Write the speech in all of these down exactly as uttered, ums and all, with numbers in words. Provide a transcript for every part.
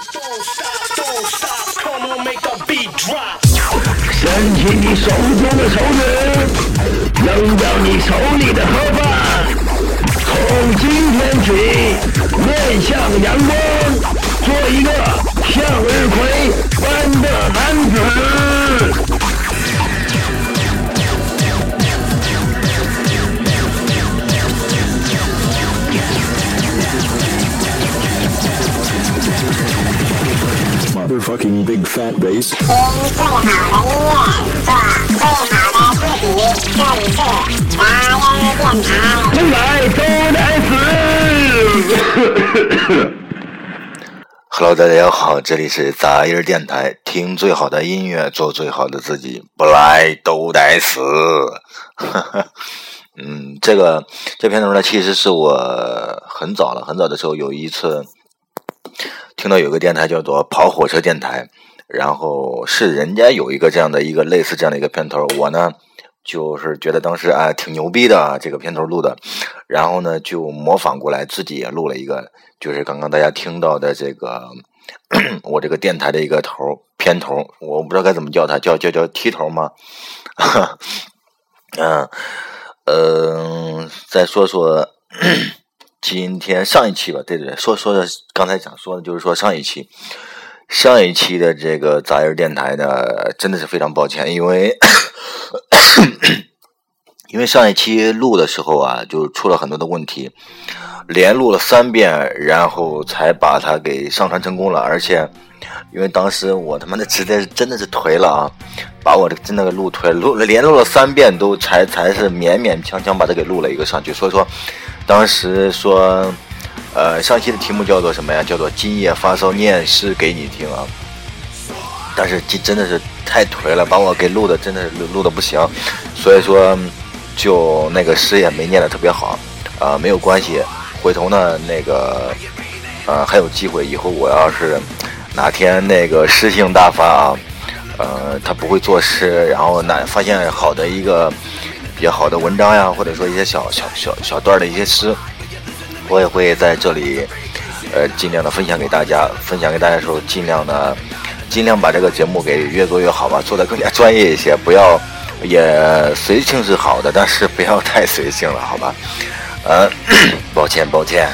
伸起你手中的手指，扔掉你手里的盒饭，从今天起面向阳光，做一个向日葵般的男子。 Motherfucking big fat bass。 听最好的音乐，做最好的自己，这里是杂音电台。 生来都来死。 Hello， 大家好，这里是杂音电台，听最好的音乐，做最好的自己，不来都得死。嗯，这个这片头呢，其实是我很早了，很早的时候有一次听到有个电台叫做跑火车电台，然后是人家有一个这样的一个类似这样的一个片头，我呢就是觉得当时啊挺牛逼的啊，这个片头录的，然后呢就模仿过来，自己也录了一个，就是刚刚大家听到的这个我这个电台的一个头片头，我不知道该怎么叫它，叫叫叫踢头吗？嗯呃，再说说今天上一期吧，对对对，说说的刚才想说的就是说上一期，上一期的这个杂音电台呢，真的是非常抱歉，因为因为上一期录的时候啊，就出了很多的问题，连录了三遍，然后才把它给上传成功了，而且因为当时我他妈的实在是真的是颓了啊，把我这真的给录颓了，录了连录了三遍都才才是勉勉强强把它给录了一个上去，所以说当时说呃上期的题目叫做什么呀，叫做今夜发烧念诗给你听啊，但是真的是太颓了，把我给录的真的是录录的不行，所以说就那个诗也没念的特别好啊、呃，没有关系，回头呢那个呃还有机会，以后我要是哪天那个诗性大发啊，呃他不会作诗，然后哪发现好的一个比较好的文章呀，或者说一些小小小小段的一些诗，我也会在这里呃尽量的分享给大家，分享给大家的时候尽量的尽量把这个节目给越做越好吧，做得更加专业一些，不要也随性是好的，但是不要太随性了，好吧？呃，抱歉抱歉。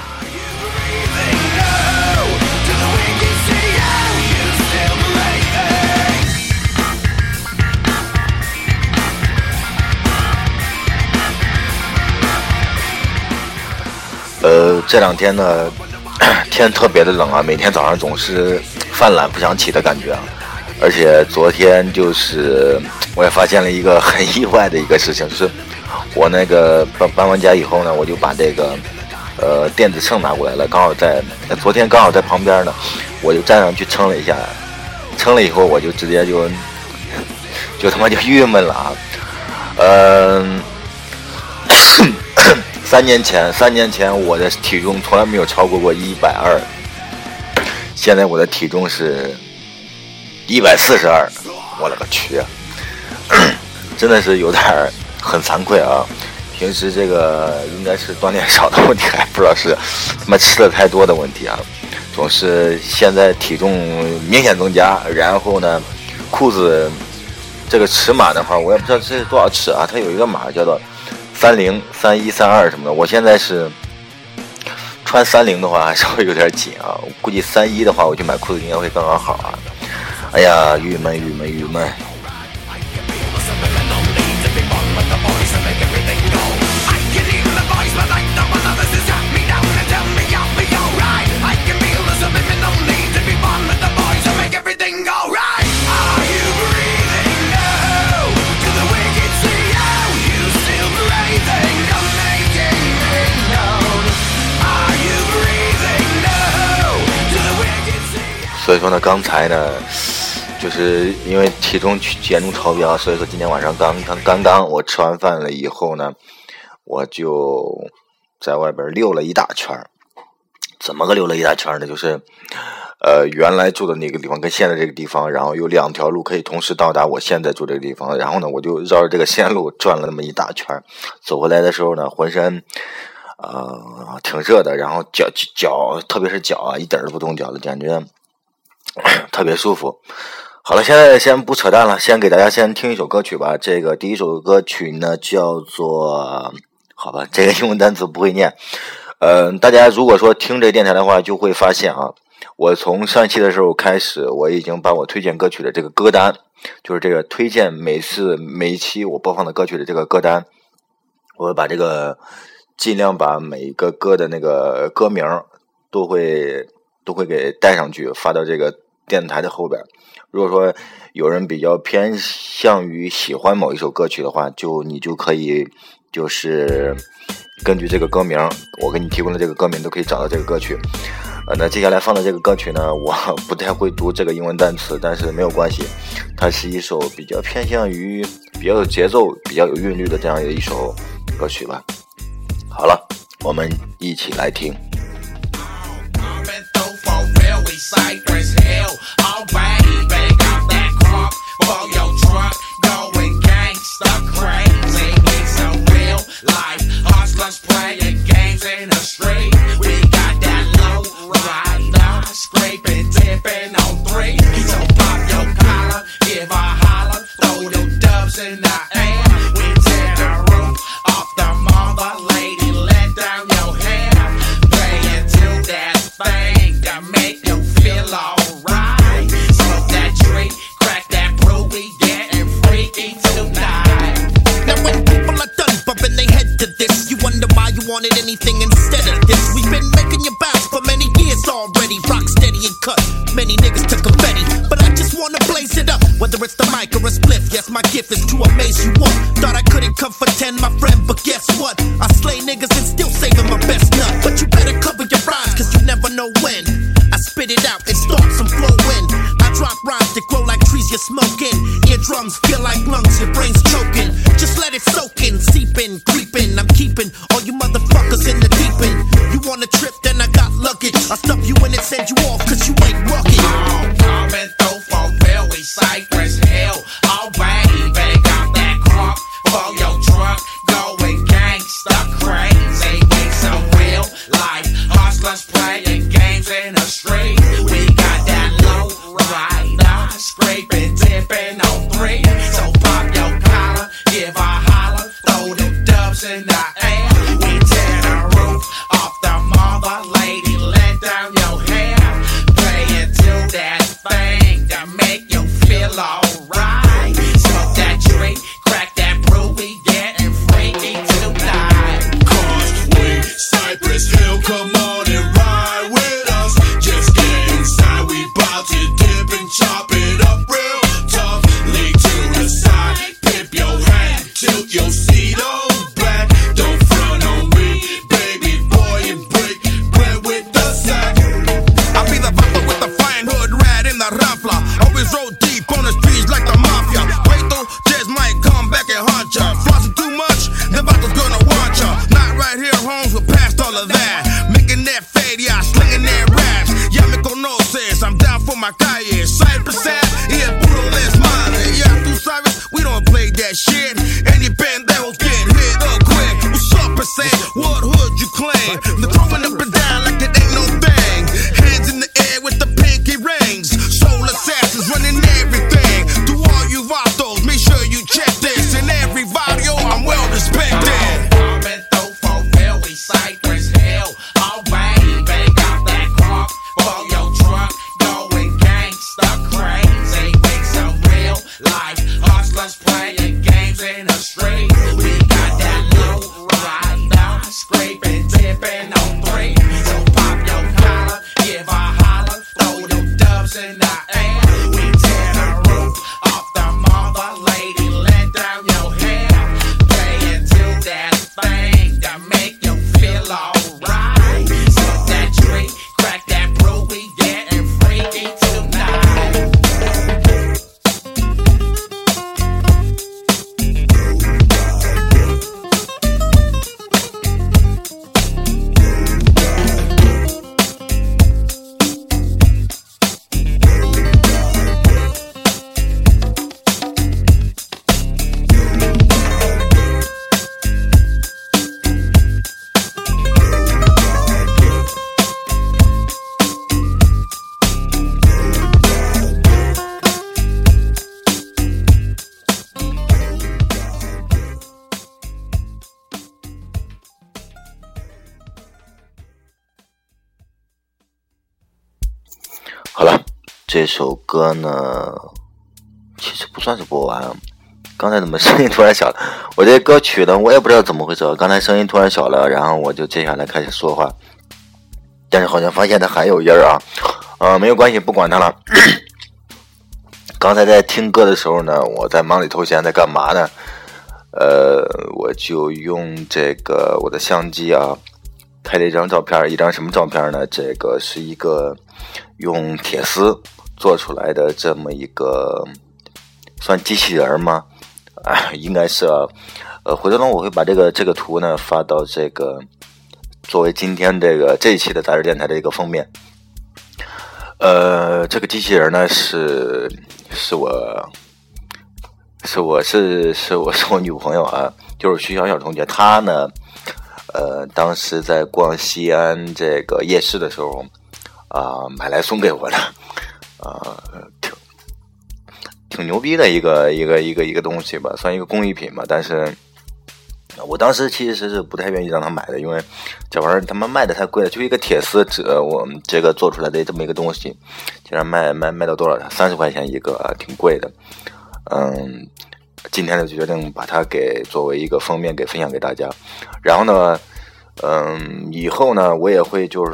呃，这两天呢，天特别的冷啊，每天早上总是犯懒不想起的感觉啊。而且昨天就是我也发现了一个很意外的一个事情，就是我那个搬搬完家以后呢，我就把这个呃电子秤拿过来了，刚好在昨天刚好在旁边呢，我就站上去称了一下，称了以后我就直接就就他妈就郁闷了啊，嗯、呃。三年前，三年前我的体重从来没有超过过一百二，现在我的体重是一百四十二，我勒个去啊！真的是有点很惭愧啊。平时这个应该是锻炼少的问题，还不知道是他妈吃的太多的问题啊。总是现在体重明显增加，然后呢，裤子这个尺码的话，我也不知道这是多少尺啊，它有一个码叫做三零、三一、三二什么的，我现在是穿三零的话还稍微有点紧啊，我估计三一的话我去买裤子应该会刚刚好啊。哎呀，郁闷郁闷郁闷。所以说呢，刚才呢，就是因为体重严重超标，所以说今天晚上刚刚刚刚我吃完饭了以后呢，我就在外边溜了一大圈。怎么个溜了一大圈呢？就是呃原来住的那个地方跟现在这个地方，然后有两条路可以同时到达我现在住这个地方，然后呢我就绕着这个线路转了那么一大圈，走回来的时候呢，浑身呃挺热的，然后脚脚特别是脚啊一点都不动脚的，感觉特别舒服。好了，现在先不扯淡了，先给大家先听一首歌曲吧。这个第一首歌曲呢叫做，好吧，这个英文单词不会念。呃，大家如果说听这个电台的话，就会发现啊，我从上一期的时候开始，我已经把我推荐歌曲的这个歌单，就是这个推荐每次每一期我播放的歌曲的这个歌单，我会把这个尽量把每一个歌的那个歌名都会都会给带上去，发到这个电台的后边。如果说有人比较偏向于喜欢某一首歌曲的话，就你就可以就是根据这个歌名，我给你提供的这个歌名都可以找到这个歌曲。呃，那接下来放的这个歌曲呢，我不太会读这个英文单词，但是没有关系，它是一首比较偏向于比较有节奏、比较有韵律的这样的一首歌曲吧。好了，我们一起来听。 Cypress Hill, alright, bang out that crop for your truck, going gangsta crazy. We so real life hustlers playing games in the street. We got that low rider, scraping, tipping on three. So pop your collar, give a holler, throw them dubs in the air. We tear the roof off the mother lady, let down your hair, playing to that thing that make you feel alright. Smoke that tree, crack that brew, we getting freaky tonight. Now when people are done bumping their head to this, you wonder why you wanted anything instead of this. We've been making you bounce for many years already. Rock steady and cut, many niggas took confetti, but I just wanna blaze it up. Whether it's the mic or a spliff, yes, my gift is to amaze you all. Thought I couldn't come for ten, my friend, but guess what? I slay niggas and still saving my best nut. But you better cover your rhymes, cause you never know when I spit it out and start some flow in. I drop rhymes that grow like trees you're smoking. Eardrums feel like lungs, your brain's choking. Just let it soak in, seep in, creep in. I'm keeping all you motherfuckers in the deep end. You want a trip, then I got luggage. I stuff you in and send you off, cause you ain't rugged. Oh, coming through for real, we Cypress Hill. Alright, bang out that crop for your truck, going gangsta crazy. We so real life hustlers playing games in the street. We got that low rider, scraping, tipping on three. So pop your collar, give a holler, throw them dubs in the air. We tear the roof off the mother lady, let down your hair, playing to that thing that make you feel alright. Smoke that tree, crack that brew, we getting freaky tonight. Cause we Cypress Hill, come on and ride with us. Just get inside, we bout to dip and chop it up real tough. Lay to the side, pimp your hat, tilt your seat on back. Don't front on me, baby boy, and break bread with the sack. I be the viper with the flying hood rat in the raffla. Always roll deep on the streets like the mafia. Wait though, just might come back and haunt ya. Flossing too much, the vatos gonna want ya. Not right here, Holmes, we're past all of that. Making that fade, yeah, slinging that raps. Ya me conoces, I'm down for my calle. Cypress Ave, yeah, puro desmadre. Yeah, tú sabes, we don't play that shit. Any pendejos get hit up quick. What's up, percent? What hood you claim? They're throwing up and down like it ain't no thing. Hands in the air with the pinky rings. Soul assassins running everything. To all you vatos, make sure you check this. In every video, I'm well respected. Coming through for real, we Cypress Hill. Alright, bang out that crop for your truck, going gangsta crazy. We so real life hustlers playing games in the street. We got that low rider, scraping, tipping on three. So pop your collar, give a holler, throw them dubs in the air. We tear the roof off the mother lady, let down your hair, playing to that thing that make you feel alright. Smoke that tree, crack that brew, we getting freaky tonight. 好了，这首歌呢其实不算是播完，刚才怎么声音突然小了？我这歌曲呢我也不知道怎么回事，刚才声音突然小了，然后我就接下来开始说话，但是好像发现它还有音儿啊，呃没有关系，不管它了。刚才在听歌的时候呢，我在忙里偷闲，在干嘛呢？呃，我就用这个我的相机啊，拍了一张照片，一张什么照片呢？这个是一个用铁丝做出来的这么一个，算机器人吗？啊，应该是啊。呃，回头呢，我会把这个这个图呢发到这个作为今天这个这一期的杂志电台的一个封面。呃，这个机器人呢是是我是我是是我是我女朋友啊，就是徐小小同学，她呢，呃，当时在逛西安这个夜市的时候啊、呃，买来送给我的，啊、呃，挺挺牛逼的一个一个一个一个东西吧，算一个工艺品吧，但是。我当时其实是不太愿意让他买的，因为这玩意儿他们卖的太贵了，就一个铁丝纸，我们这个做出来的这么一个东西，竟然卖卖卖到多少？三十块钱一个，啊，挺贵的。嗯，今天呢就决定把它给作为一个封面给分享给大家。然后呢，嗯，以后呢我也会就是，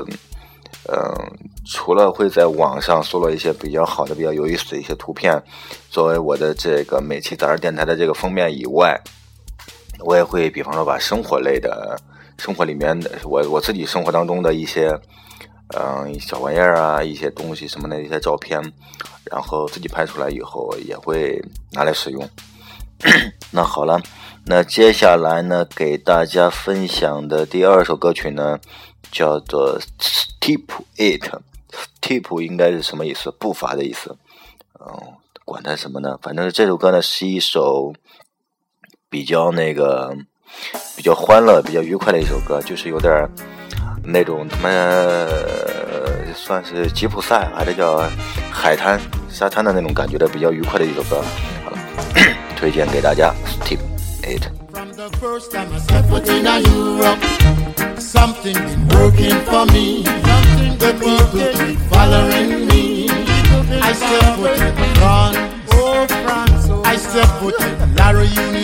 嗯，除了会在网上搜罗一些比较好的、比较有意思的一些图片，作为我的这个每期杂志电台的这个封面以外。我也会比方说把生活类的生活里面的我我自己生活当中的一些嗯、呃、小玩意儿啊，一些东西什么的一些照片，然后自己拍出来以后也会拿来使用。那好了，那接下来呢给大家分享的第二首歌曲呢叫做 Step It。 Step 应该是什么意思？步伐的意思。嗯，管它什么呢，反正这首歌呢是一首比较那个比较欢乐比较愉快的一首歌，就是有点那种他妈、呃、算是吉普赛还是叫海滩沙滩的那种感觉的比较愉快的一首歌。好了，推荐给大家 Step It。 From the first time I stepped foot in Europe, something been working for me. The people keep following me. I step foot in France, oh France, oh I step foot in La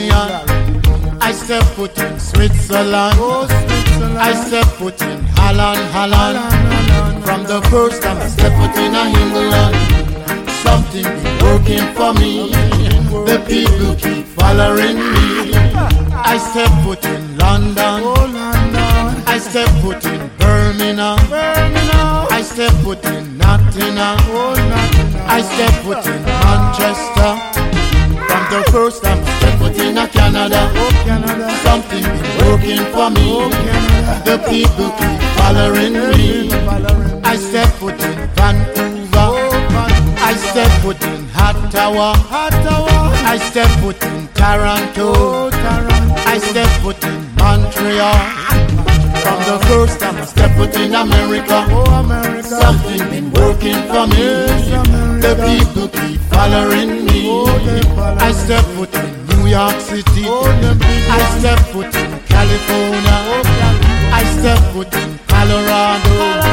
Réunion. I step foot in Switzerland, oh Switzerland. I step foot in Holland, Holland. From the first time I step foot in England, something been working for me. The people keep following me. I step foot in London, oh London. I step foot in Birmingham, Birmingham. I step foot in Nottingham, oh Nottingham. I step foot in Manchester. From the first time I step foot in Canada, oh Canada. Something been working for me, oh Canada. The people keep following me. I step foot in Vancouver, oh Vancouver. I step foot in Ottawa, Ottawa. I step foot in Toronto, oh Toronto. I step foot in Montreal. From the first time I step foot in America, oh America. Something been working for me. The people keep following me. I step foot in New York City, I step foot in California, I step foot in Colorado,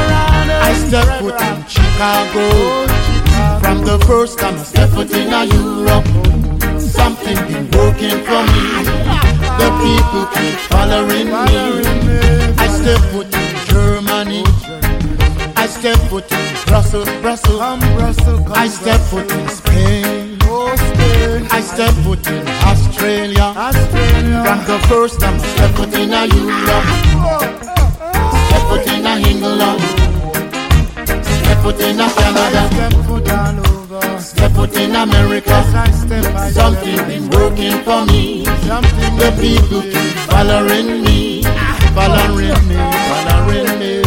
I step foot in Chicago. From the first time I step foot in Europe, something been working for me. The people keep following me. I step foot in Germany, I step foot in Brussels, Brussels. I step foot in Spain, I step foot in Australia. From the first time I step foot in Europe, step foot in England, step foot in Canada, step foot in America. Something been working for me. The people keep following me, following me, following me.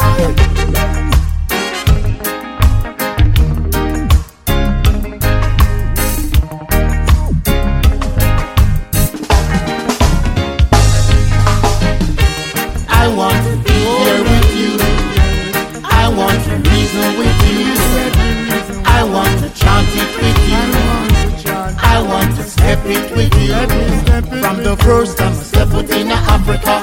I want to be here with you. I want to reason with you. I want to chant it with you. I want to step it with you. From the first time I step foot in Africa,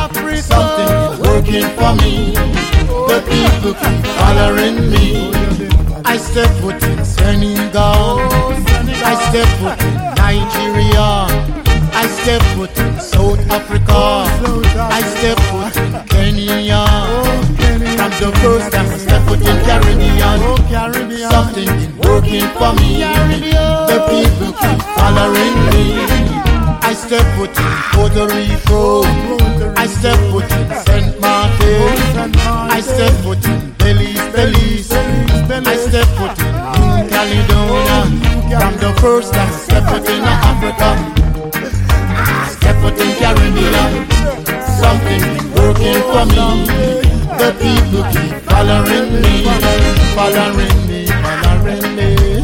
something is working for me. The people keep following me. I step foot in Senegal, I step foot in Nigeria, I step foot in South Africa, I step foot in Kenya. From the first time I step foot in Caribbean, something been working for me. The people keep following me. I step foot in Puerto Rico, I step foot in Saint Martin, I step foot in Belize, Belize, I step foot in New Caledonia. From the first time I step foot in Africa, I step foot in Caribbean, something been working for me. The people keep following me, following me, following me.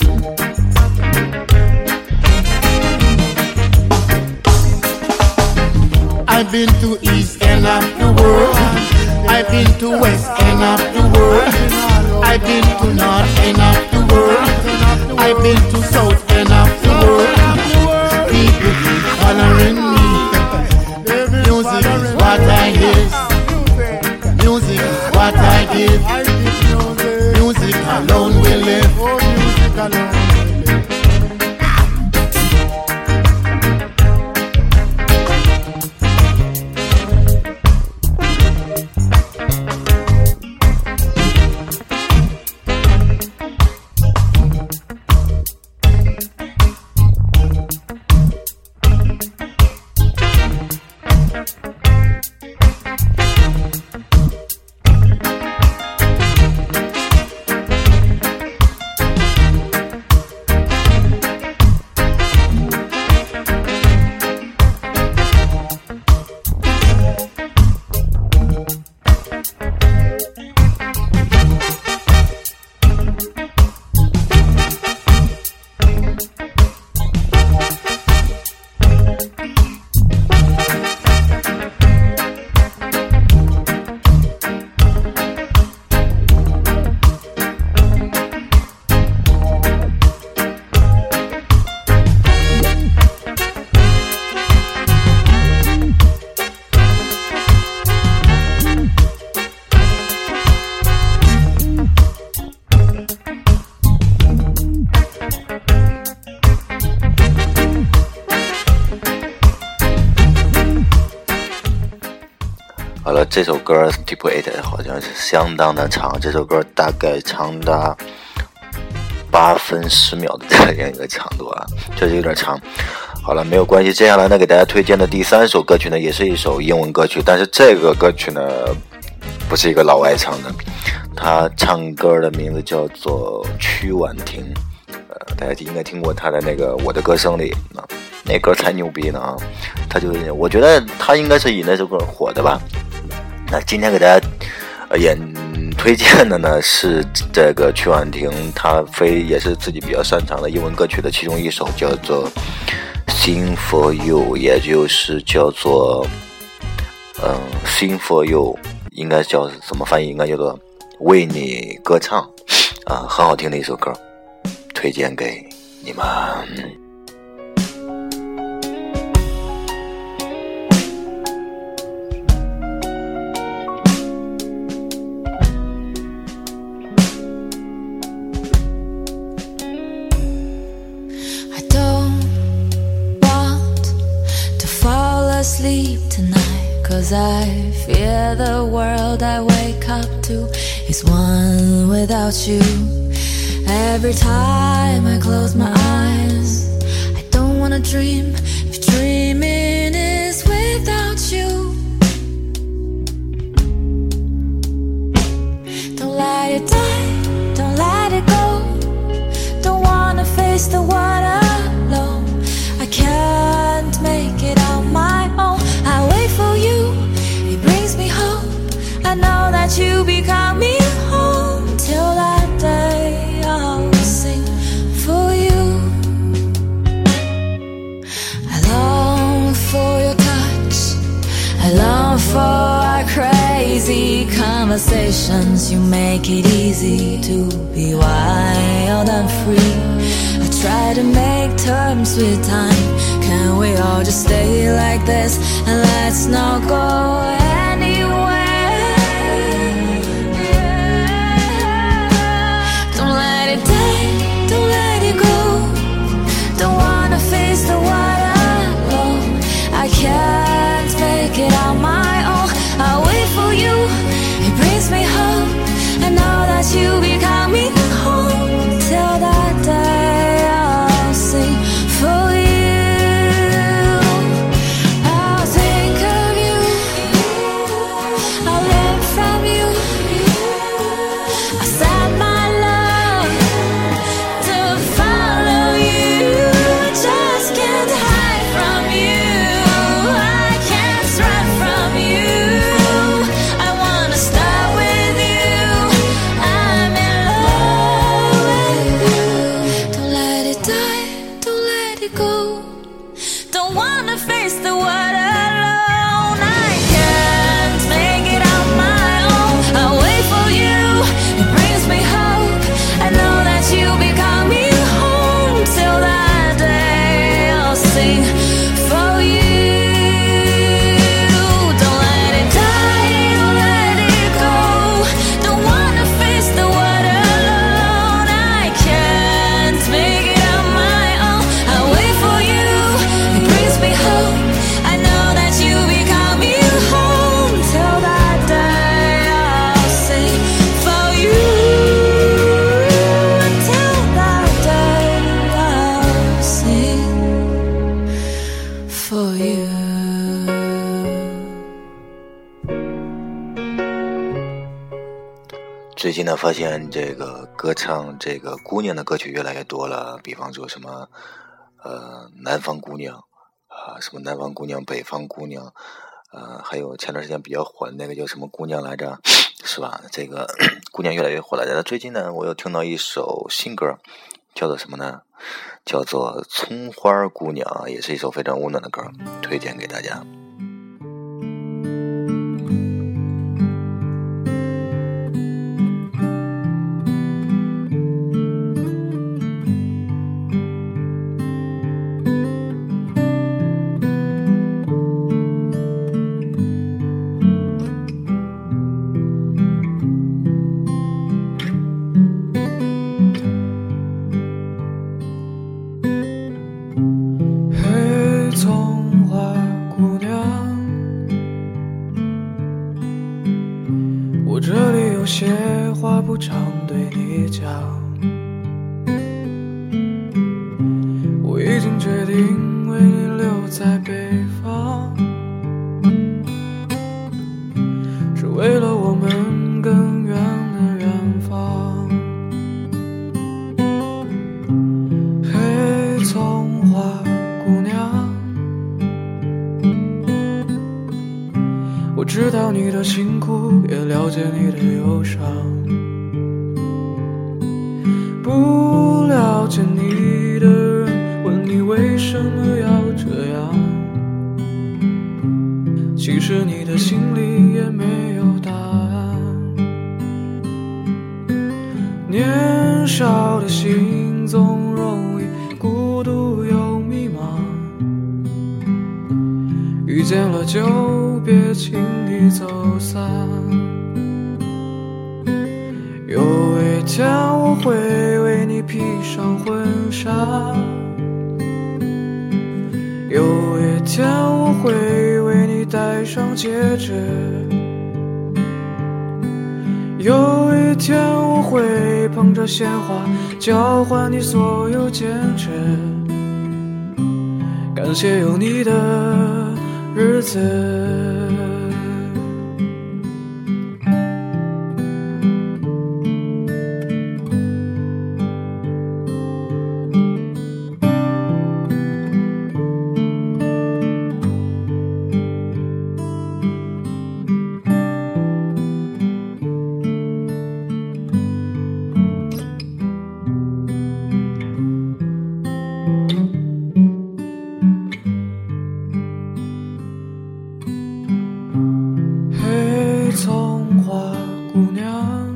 I've been to east end of the world, I've been to west end of the world, I've been to north end of the world, I've been to south end of the world. People keep following me. Music is what I give, music is what I give, music alone will live. Music alone. 好了，这首歌 Deep Eight 好像是相当的长，这首歌大概长达八分十秒的这样一个长度啊，确实有点长。好了，没有关系。接下来呢，给大家推荐的第三首歌曲呢，也是一首英文歌曲，但是这个歌曲呢，不是一个老外唱的，他唱歌的名字叫做曲婉婷。呃，大家应该听过他的那个《我的歌声》里啊，那歌才牛逼呢啊！他就我觉得他应该是以那首歌火的吧。那今天给大家呃演推荐的呢是这个曲婉婷，她非也是自己比较擅长的英文歌曲的其中一首，叫做 Sing for You， 也就是叫做嗯 Sing for You， 应该叫怎么翻译？应该叫做为你歌唱啊，很好听的一首歌，推荐给你们。 Sleep tonight, 'cause I fear the world I wake up to is one without you. Every time I close my eyes, I don't wanna dream if dreaming is without you. Don't let it die, don't let it go. Don't wanna face the world alone. I can't make it on my own. I wait for you, it brings me hope. I know that you be coming home. Till that day I'll sing for you. I long for your touch, I long for our crazy conversations. You make it easy to be wild and free. I try to make terms with time. Can we all just stay like this and let's not go anywhere? Don't 最近呢，发现这个歌唱这个姑娘的歌曲越来越多了，比方说什么呃南方姑娘啊、呃，什么南方姑娘、北方姑娘，呃，还有前段时间比较火的那个叫什么姑娘来着，是吧？这个姑娘越来越火了。但是最近呢，我又听到一首新歌，叫做什么呢？叫做《葱花姑娘》，也是一首非常温暖的歌，推荐给大家。 这里有些话不常对你讲，我已经决定为你留在北方，是为了我们更远的远方。嘿，葱花姑娘，我知道你的辛苦，也了解你的忧伤，不了解你的人问你为什么要这样，其实你的心里也没有答案。年少的心总容易孤独又迷茫，遇见了就别轻易走散。有一天我会为你披上婚纱，有一天我会为你戴上戒指，有一天我会捧着鲜花交换你所有坚持。感谢有你的日子。葱花姑娘，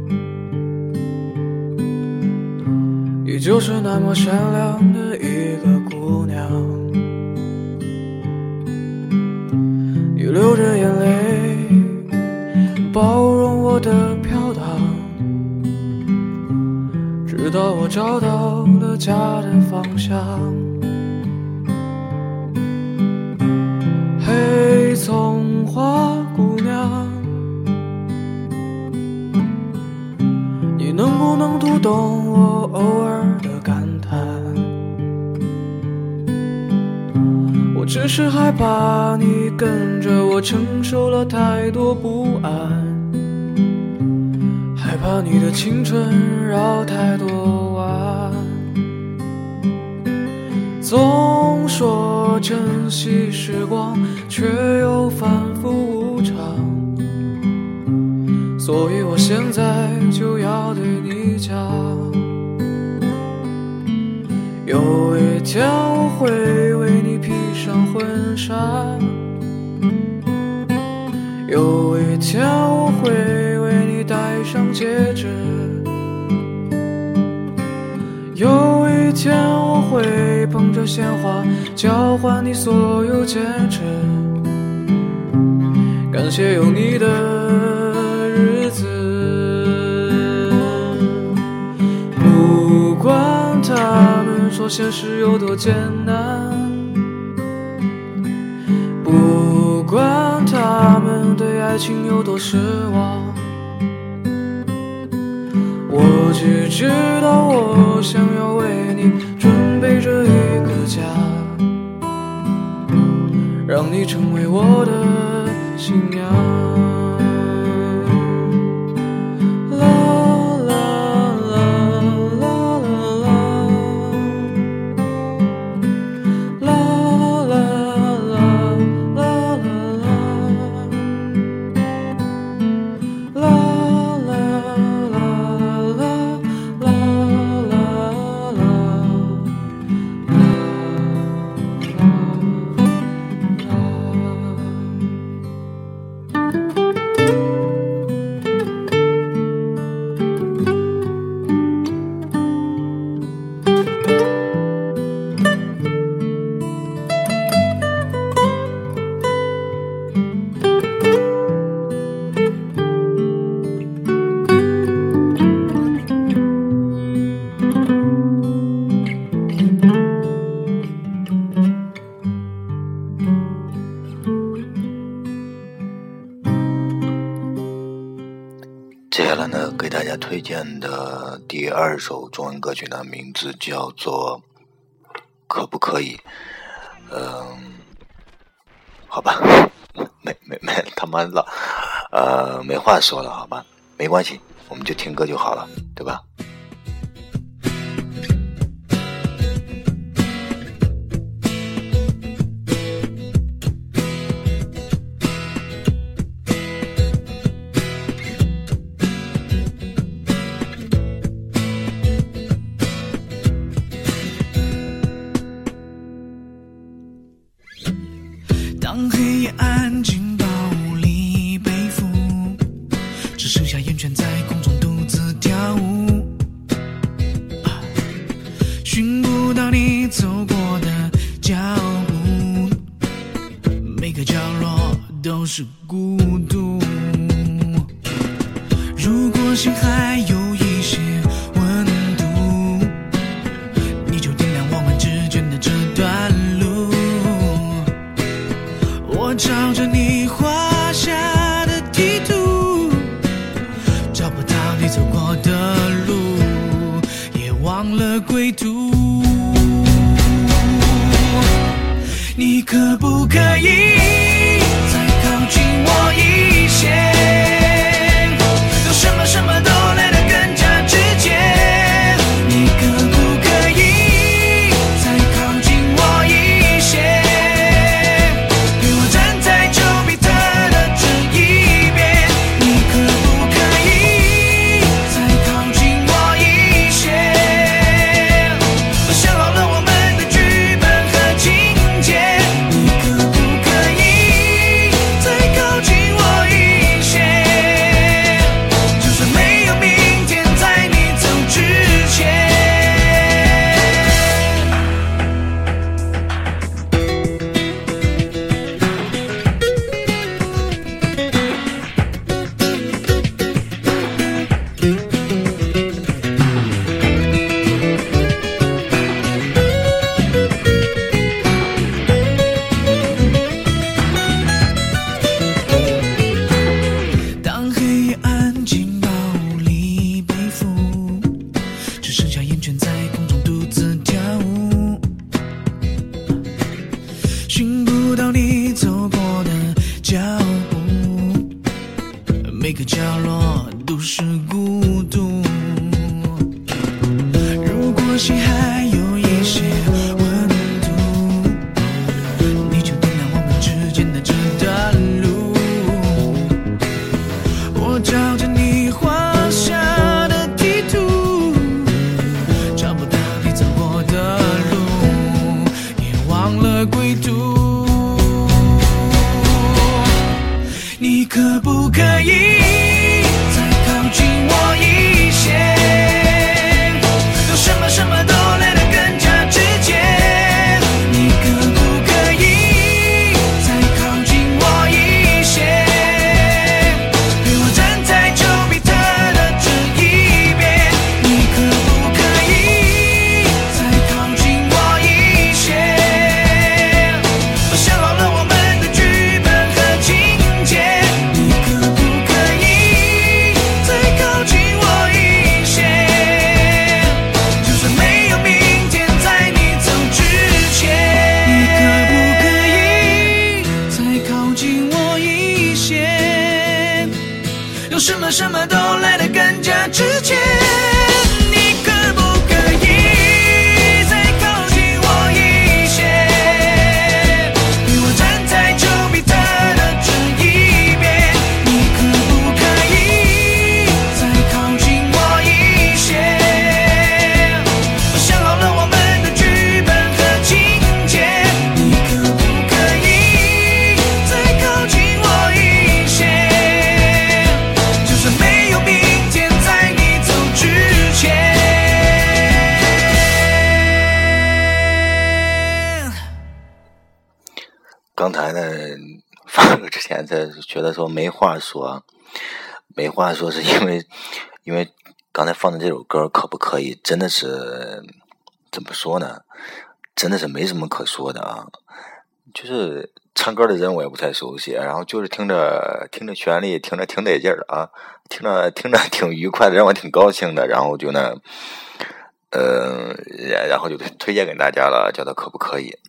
依旧是那么善良的一个姑娘，你流着眼泪包容我的飘荡，直到我找到了家的方向。嘿，葱花姑娘，你能不能读懂我偶尔的感叹？我只是害怕你跟着我承受了太多不安，害怕你的青春绕太多弯。总说珍惜时光，却又反复无常，所以我现在就要对你讲，有一天我会为你披上婚纱，有一天我会为你戴上戒指，有一天我会捧着鲜花交换你所有坚持。感谢有你的日子，不管他们说现实有多艰难，不管他们对爱情有多失望，我只知道我想要为你准备这一个家，让你成为我的新娘。啦家推荐的第二首中文歌曲的名字叫做可不可以。嗯，好吧，没没没他妈的呃没话说了，好吧，没关系，我们就听歌就好了，对吧？ 当黑夜安静暴力背负，只剩下烟圈在空中独自跳舞，寻不到你走过的脚步，每个角落都是孤独。如果心还有一些温度，你就点亮我们之间的这段路。我照着你画下的地图，找不到你走过的路，也忘了归途。你可不可以再靠近我一些？有什么什么都来得更加直接。你可不可以再靠近我一些？陪我站在丘比特的这一边。你可不可以再靠近我一些？我想好了我们的剧本和情节。你可不可以再靠近我一些？就算没有明天，在你走之前。当黑夜安静暴力背负，只剩下烟圈在空中独自跳舞，寻不到你走过的脚步，每个角落都是孤独。如果心还有一些温度，你就点亮我们之间的这段路。我照着你画下的地图，找不到你走过的路，也忘了归途。你可不可以再靠近我一些？有什么什么都来得更加直接。你可不可以再靠近我一些？陪我站在丘比特的这一边。你可不可以再靠近我一些？我想好了我们的剧本和情节。你可不可以再靠近我一些？就算没有明天，在你走之前。你可不可以再靠近我一些？有什么什么都来得更加直接。你可不可以再靠近我一些？陪我站在丘比特的这一边。你可不可以再靠近我一些？我想好了我们的剧本和情节。你可不可以再靠近我一些？就算没有明天，在你走之前。 刚才呢放歌之前在觉得说没话说，没话说是因为因为刚才放的这首歌可不可以真的是怎么说呢，真的是没什么可说的啊。 就是唱歌的人我也不太熟悉，然后就是听着听着旋律，听着挺得劲儿的啊，听着听着挺愉快的，让我挺高兴的，然后就呢，呃，然后就推荐给大家了，叫做可不可以。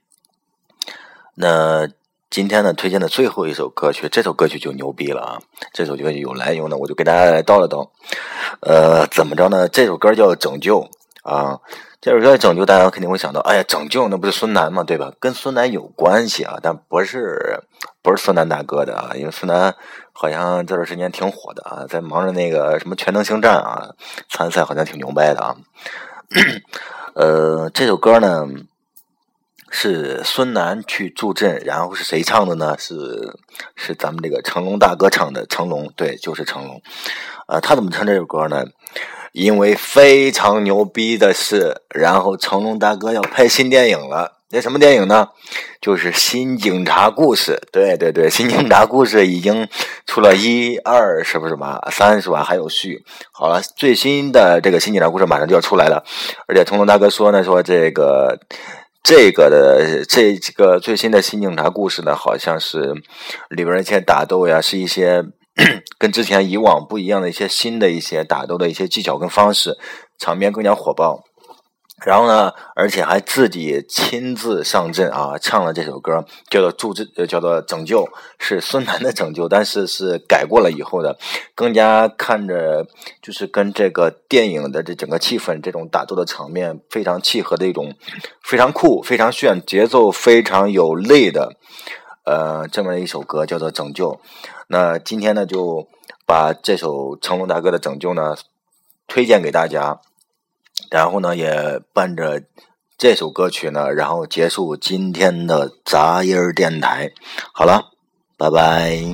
那今天呢推荐的最后一首歌曲，这首歌曲就牛逼了啊！这首歌曲有来由呢，我就给大家来叨了叨。呃，怎么着呢？这首歌叫《拯救》啊。这首歌《拯救》，大家肯定会想到，哎呀，拯救那不是孙楠吗？对吧？跟孙楠有关系啊，但不是不是孙楠大哥的啊，因为孙楠好像这段时间挺火的啊，在忙着那个什么全能星战啊，参赛好像挺牛掰的啊。呃，这首歌呢是孙楠去助阵，然后是谁唱的呢？是是咱们这个成龙大哥唱的，成龙，对，就是成龙。呃，他怎么唱这首歌呢？因为非常牛逼的是，然后成龙大哥要拍新电影了。那什么电影呢？就是《新警察故事》。对对对，《新警察故事》已经出了一二，是不是吧？三是吧？还有续。好了，最新的这个《新警察故事》马上就要出来了，而且成龙大哥说呢，说这个这个的这这个最新的《新警察故事》呢，好像是里边一些打斗呀，是一些跟之前以往不一样的一些新的一些打斗的一些技巧跟方式，场面更加火爆。然后呢，而且还自己亲自上阵啊，唱了这首歌，叫做助阵，叫做拯救，是孙楠的拯救，但是是改过了以后的，更加看着就是跟这个电影的这整个气氛，这种打斗的场面非常契合的一种非常酷、非常炫、节奏非常有力的呃这么一首歌，叫做拯救。那今天呢，就把这首成龙大哥的拯救呢推荐给大家。然后呢，也伴着这首歌曲呢，然后结束今天的杂音电台。好了，拜拜。 今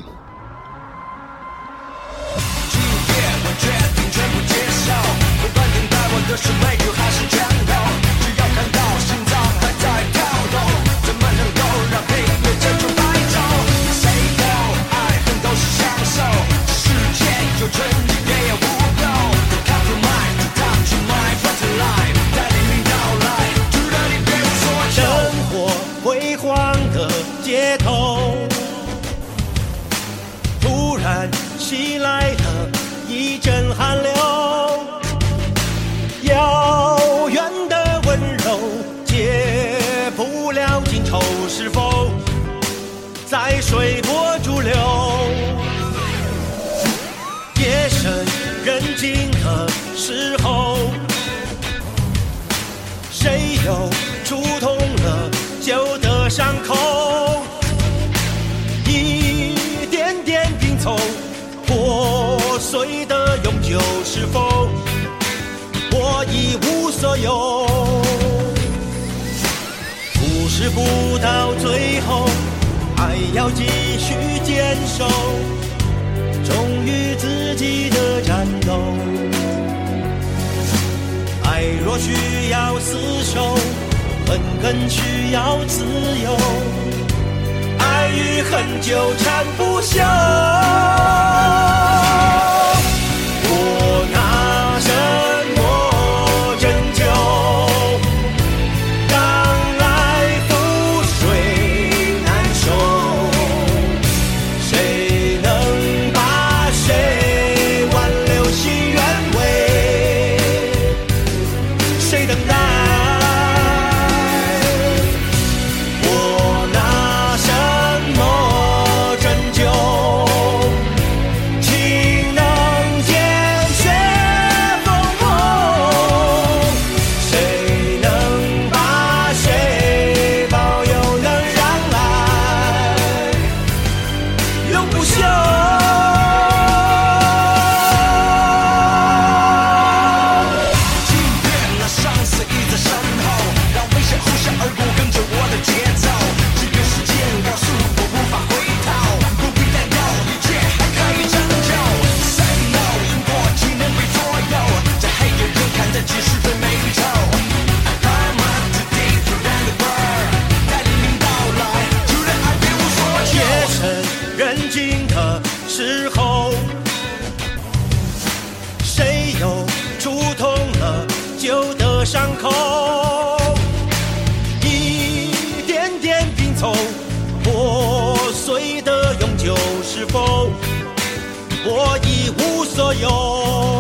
天我决定全部接受，不管等待我的是泪流还是战斗，只要看到心脏还在跳动，怎么能够让平庸这种白昼？谁都爱恨都是享受，世界有纯净也有污垢。Come to mind, come to mind, come to life， 带领你到来，值得你别无所求。 生活辉煌的街头，突然袭来了一阵寒流，遥远的温柔解不了今愁，是否在随波逐流？夜深人静的时候，谁又触痛了旧的伤口？一点点拼凑破碎的永久，是否我一无所有？故事不到最后，还要继续坚守，忠于自己的战斗。爱若需要厮守，恨更需要自由，爱与恨纠缠不休。我拿什么拯救？当来覆水难收，谁能把谁挽留心原委？谁等待？我拿什么拯救？情能见血封喉，谁能把谁保佑，能让爱永不朽？ 今天那生死已在身后，让危险呼啸而过，跟着我的节奏。只有时间告诉我无法回头，不必担忧，一切还可以拯救。Say no， 因果岂能被左右？在黑夜中看得见是非美丑。I climb up to deep around the world， 带领你到来，就让爱别无所求。 夜深人静的时候，谁又触痛了旧的伤口？一点点拼凑由。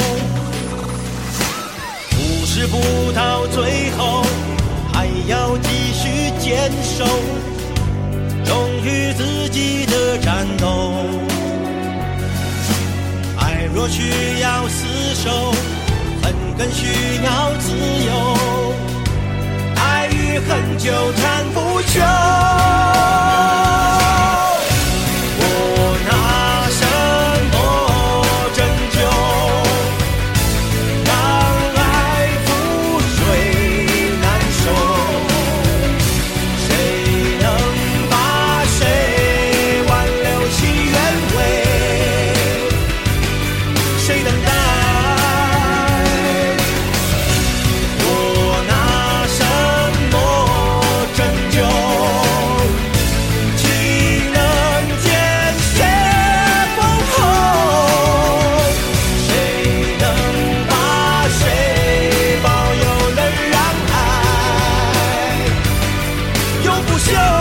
故事不到最后，还要继续坚守，忠于自己的战斗。爱若需要厮守，恨更需要自由。爱与恨纠缠不休。我拿什么拯救，让爱覆水难收？谁能把谁挽留其原委？谁等待？我拿什么拯救？岂能见血封喉？谁能把谁保佑，能让爱永不朽？